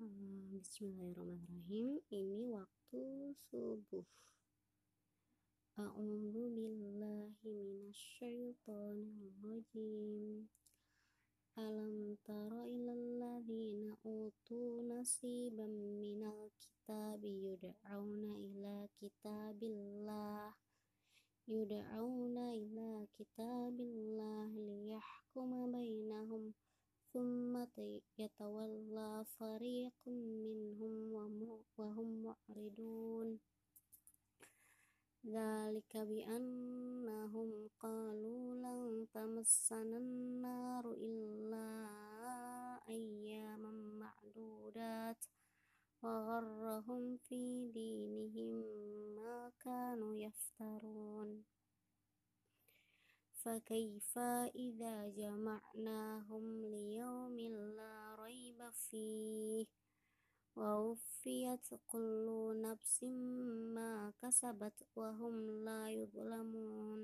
Bismillahirrahmanirrahim. Ini waktu subuh. A'udzu billahi minasyaitonir rajim. Alam tara ilal ladzina utu nasiban minal kitabi yud'auna ila kitabillah liyahkuma bainahum thumma yatawalla fariqun minhum wa hum mu'ridun. Dzalika bi annahum qalu lan tamassana an-naru illa ayyaman ma'dudat wa gharrahum fi dinihim ma kanu yaftarun. Fakaifa idza jama'nahum liyaumin la raiba fihi wa wuffiyat kullu nafsin ma kasabat wa hum la yuzlamun.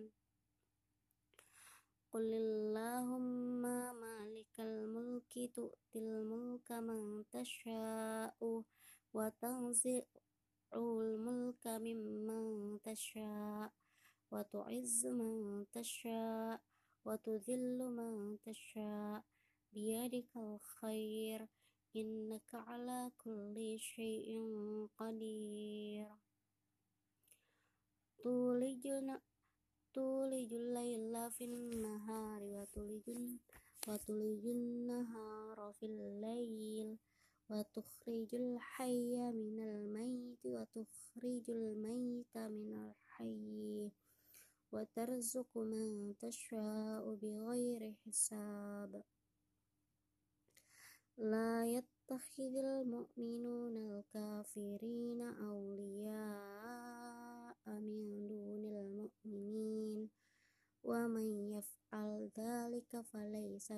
Qulillahumma malikal mulki tu'til mulka man tasha'u wa tanzi'ul mulka mimman tasha' wa tu'izzu man tasha' wa tudhillu man tasha' biyadikal khair innaka ala kulli syai'in qadir. Tulijul laila fin nahari wa tulijun nahara fil lail wa tukhrijul hayya minal mayyiti wa tukhrijul mayyita minal hayyi wa tarzuqu man tasha'u bighairi hisab. La yattakhidhul mu'minuna al-kafirina awliya'a min dunil mu'minin wa man yaf'al dhalika falaysa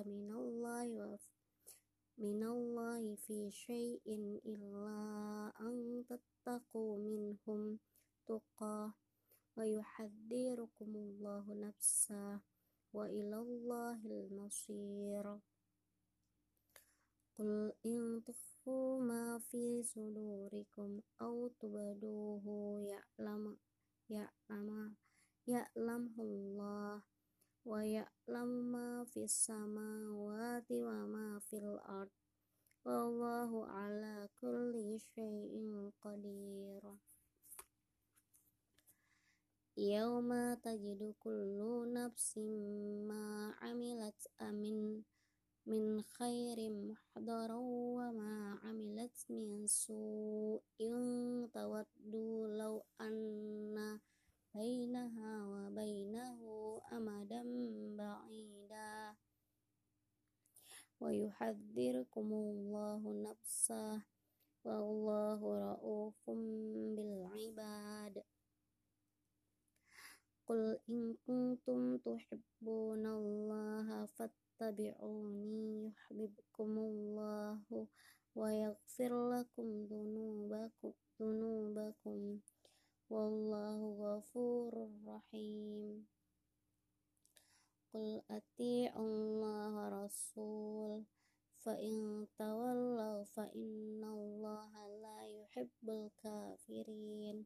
minallahi fi syai'in illa an tattaqu minhum tuqah wa yuhadzirukumullahu nafsah wa ilallahil masir. Qul in tukhfu ma fi sudurikum aw tubduhu ya'lamullah wa ya'lamu ma fis samawati wa ma fil ard wallahu ala kulli syai'in qadir. Yauma tajidu kullu nafsin ma 'amilat min khairin muhdaran wa ma 'amilat min su'in tawaddu law anna bainaha wa bainahu amadan ba'ida wa yuhadzirukumullahu nafsah wallahu ra'ufum bil 'ibad. Qul in kuntum tuhibbunallaha fattabi'uni yuhibbukumullahu wa yaghfir lakum dhunubakum wallahu ghafurur rahim. Qul ati'ullaha rasul fa in tawallaw fa innallaha la yuhibbul kafirin.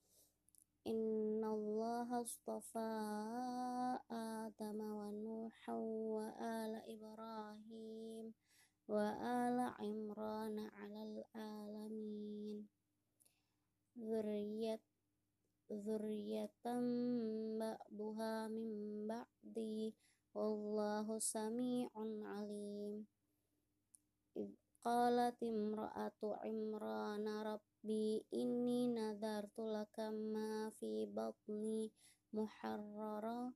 Innallaha astafa Adama wa Nuhan wa ala Ibrahim wa ala Imran 'alal alamin. Dzurriyyatan ba'duha min ba'di wallahu sami'un 'alim. Idz qalat imra'atu Imrana Rabbi inni nadartu laka ma fi batni muharraran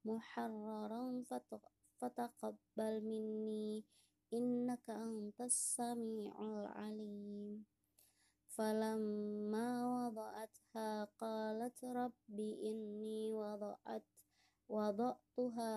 fataqabbal minni innaka antas sami'ul alim. Falamma wada'atha qalat rabbi inni wada'tuha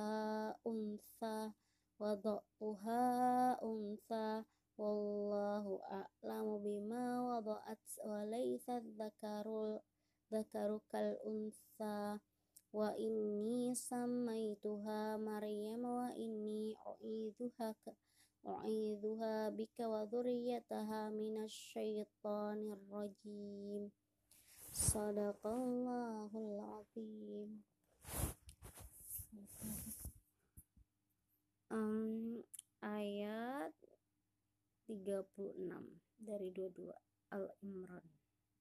untha wallahu a'lamu bima wada'at wa laysa dzakaru kal untha wa inni sammaituha Maryam wa inni u'idzuha bika wa dzurriyyataha minasyaitonir rajim. Shadaqallahul azim. Ayat 36 dari 22 Al-Imran.